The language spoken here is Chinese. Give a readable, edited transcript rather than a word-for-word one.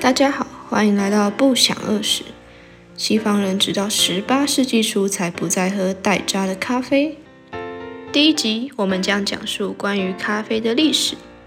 大家好，欢迎来到不想饿时。西方人直到18世纪初才不再喝代渣的咖啡。第一集，我们将讲述关于咖啡的历史、